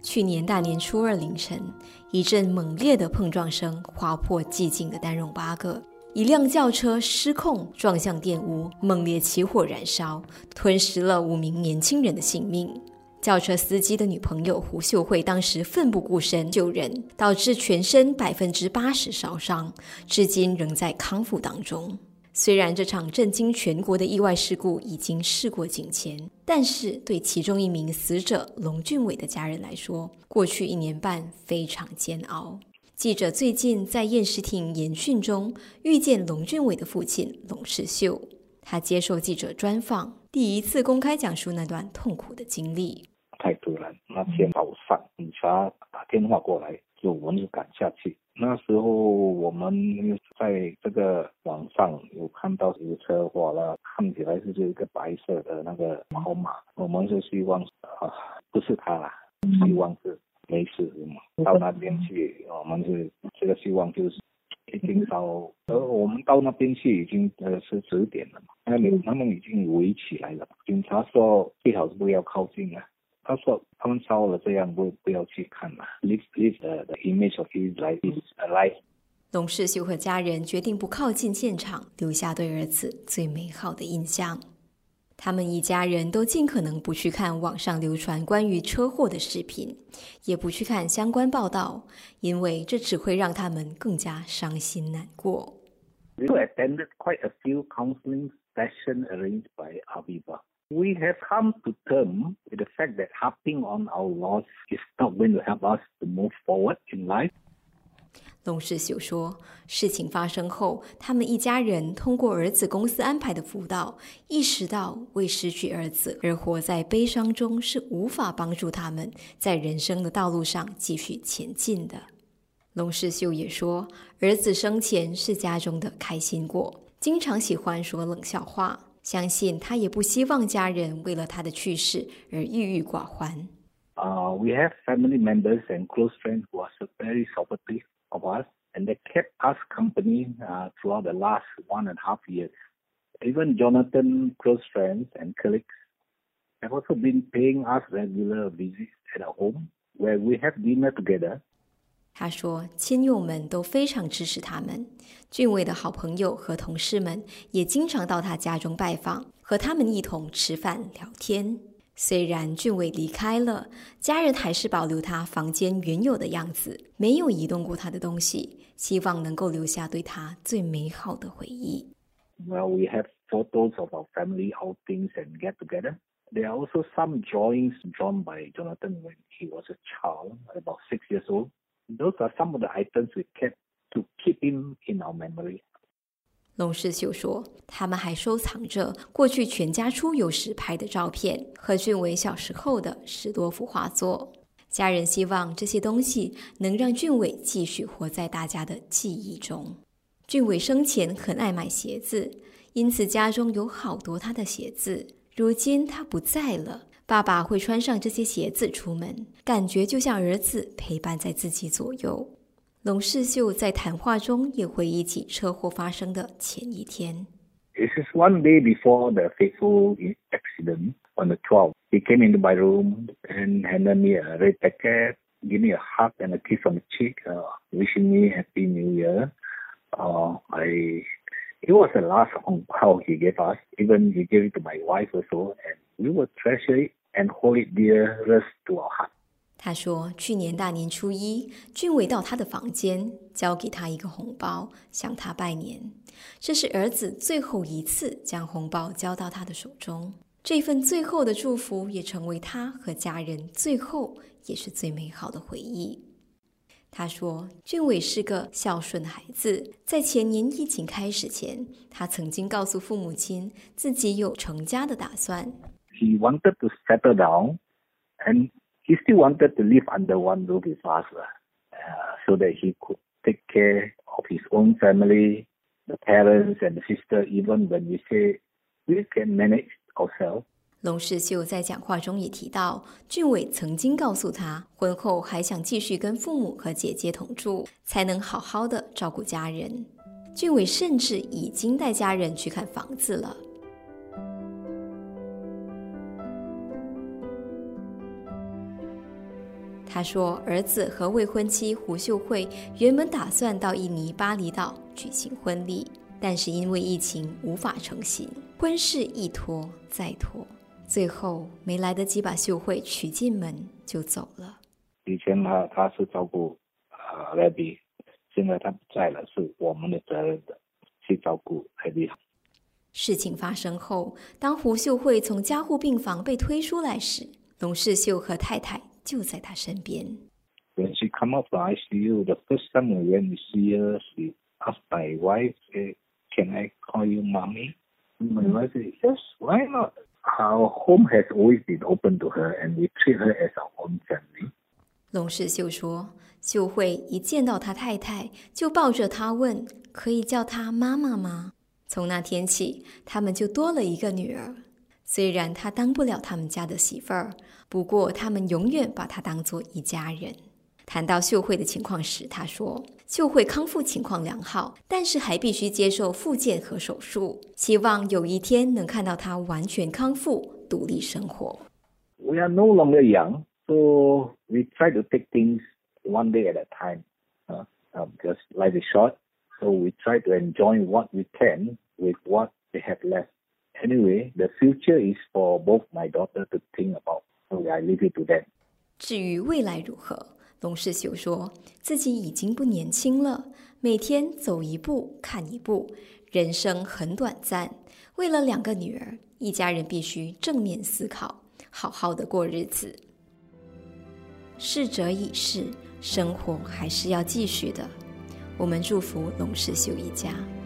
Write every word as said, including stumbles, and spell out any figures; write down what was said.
去年大年初二凌晨，一阵猛烈的碰撞声划破寂静的丹戎八个，一辆轿车失控撞向电屋，猛烈起火燃烧，吞噬了五名年轻人的性命。轿车司机的女朋友胡秀慧当时奋不顾身救人，导致全身百分之八十烧伤，至今仍在康复当中。虽然这场震惊全国的意外事故已经事过境迁，但是对其中一名死者龙俊伟的家人来说，过去一年半非常煎熬。记者最近在验尸庭研讯中遇见龙俊伟的父亲龙世秀，他接受记者专访，第一次公开讲述那段痛苦的经历。 太突然，那天早上警察打电话过来，就我们就赶下去。那时候我们在这个网上有看到有车祸了，看起来是一个白色的那个宝马，我们是希望啊不是他啦，希望是没事嘛。到那边去，我们是这个希望就是已经到，呃，我们到那边去已经呃是十点了嘛，那里他们已经围起来了。警察说最好是不要靠近啊。他说他们烧了这样不不要去看了 leave, leave the, the image of his life is alive。 龙世秀和家人决定不靠近现场，留下对儿子最美好的印象。他们一家人都尽可能不去看网上流传关于车祸的视频，也不去看相关报道，因为这只会让他们更加伤心难过。 We attended quite a few counseling sessions arranged by Aviva.We have come to terms with the fact that harping on our loss is not going to help us to move forward in life. 龙世秀说，事情发生后，他们一家人通过儿子公司安排的辅导，意识到为失去儿子而活在悲伤中是无法帮助他们在人生的道路上继续前进的。龙世秀也说，儿子生前是家中的开心果，经常喜欢说冷笑话，相信他也不希望家人为了他的去世而郁郁寡欢。 Uh, we have family members and close friends who are very supportive of us, and they kept us company uh, throughout the last one and a half years. Even Jonathan's close friends and colleagues have also been paying us regular visits at our home, where we have dinner together. 他说亲友们都非常支持他们，俊伟的好朋友和同事们也经常到他家中拜访，和他们一同吃饭聊天。虽然俊伟离开了，家人还是保留他房间原有的样子，没有移动过他的东西，希望能够留下对他最美好的回忆。 Well, we have photos of our family outings and get together. There are also some drawings drawn by Jonathan when he was a child, about six years old.Those are some of the items we kept to keep him in our memory. 龙世秀说，他们还收藏着过去全家出游时拍的照片和俊伟小时候的十多幅画作。家人希望这些东西能让俊伟继续活在大家的记忆中。俊伟生前很爱买鞋子，因此家中有好多他的鞋子。如今他不在了，爸爸会穿上这些鞋子出门，感觉就像儿子陪伴在自己左右。龙世秀在谈话中也回忆起车祸发生的前一天。 This is one day before the fateful accident on the twelfth. He came into my room and handed me a red packet, gave me a hug and a kiss on the cheek, uh, wishing me Happy New Year. Uh, I, it was the last Hong Kong he gave us. Even he gave it to my wife also, and we will treasure it and hold it dearest to our heart. 他说去年大年初一，俊伟到他的房间交给他一个红包，向他拜年。这是儿子最后一次将红包交到他的手中，这份最后的祝福也成为他和家人最后也是最美好的回忆。他说俊伟是个孝顺的孩子，在前年疫情开始前，他曾经告诉父母亲自己有成家的打算。 He wanted to settle down, and he still wanted to live under one roof with us, uh, so that he could take care of his own family, the parents and the sister, even when we say we can manage ourselves. 龙世秀在讲话中也提到，俊伟曾经告诉他，婚后还想继续跟父母和姐姐同住，才能好好的照顾家人。俊伟甚至已经带家人去看房子了。 他说，儿子和未婚妻胡秀慧原本打算到印尼巴厘岛举行婚礼，但是因为疫情无法成行，婚事一拖再拖，最后没来得及把秀慧娶进门就走了。 以前他他是照顾呃 Abby， 现在他不在了，是我们的责任的去照顾 Abby。 事情发生后，当胡秀慧从加护病房被推出来时，龙世秀和太太就在他身边。 When she come out from I C U, the first time we went to see her, she asked my wife, "Can I call you mommy?" My wife said, "Yes, why not?" Our home has always been open to her, and we treat her as our own family. 龙世秀说，秀慧一见到他太太，就抱着他问：“可以叫她妈妈吗？”从那天起，他们就多了一个女儿。虽然她当不了他们家的媳妇儿，不过他们永远把她当作一家人。谈到秀慧的情况时，他说，秀慧康复情况良好，但是还必须接受复健和手术，希望有一天能看到她完全康复，独立生活。 We are no longer young, so we try to take things one day at a time. Uh, uh, because life is short, so we try to enjoy what we can with what we have left. Anyway, the future is for both my daughter to think about, so I leave it to them. 至于未来如何，龙世秀说自己已经不年轻了，每天走一步看一步，人生很短暂，为了两个女儿，一家人必须正面思考，好好的过日子。逝者已逝，生活还是要继续的。我们祝福龙世秀一家。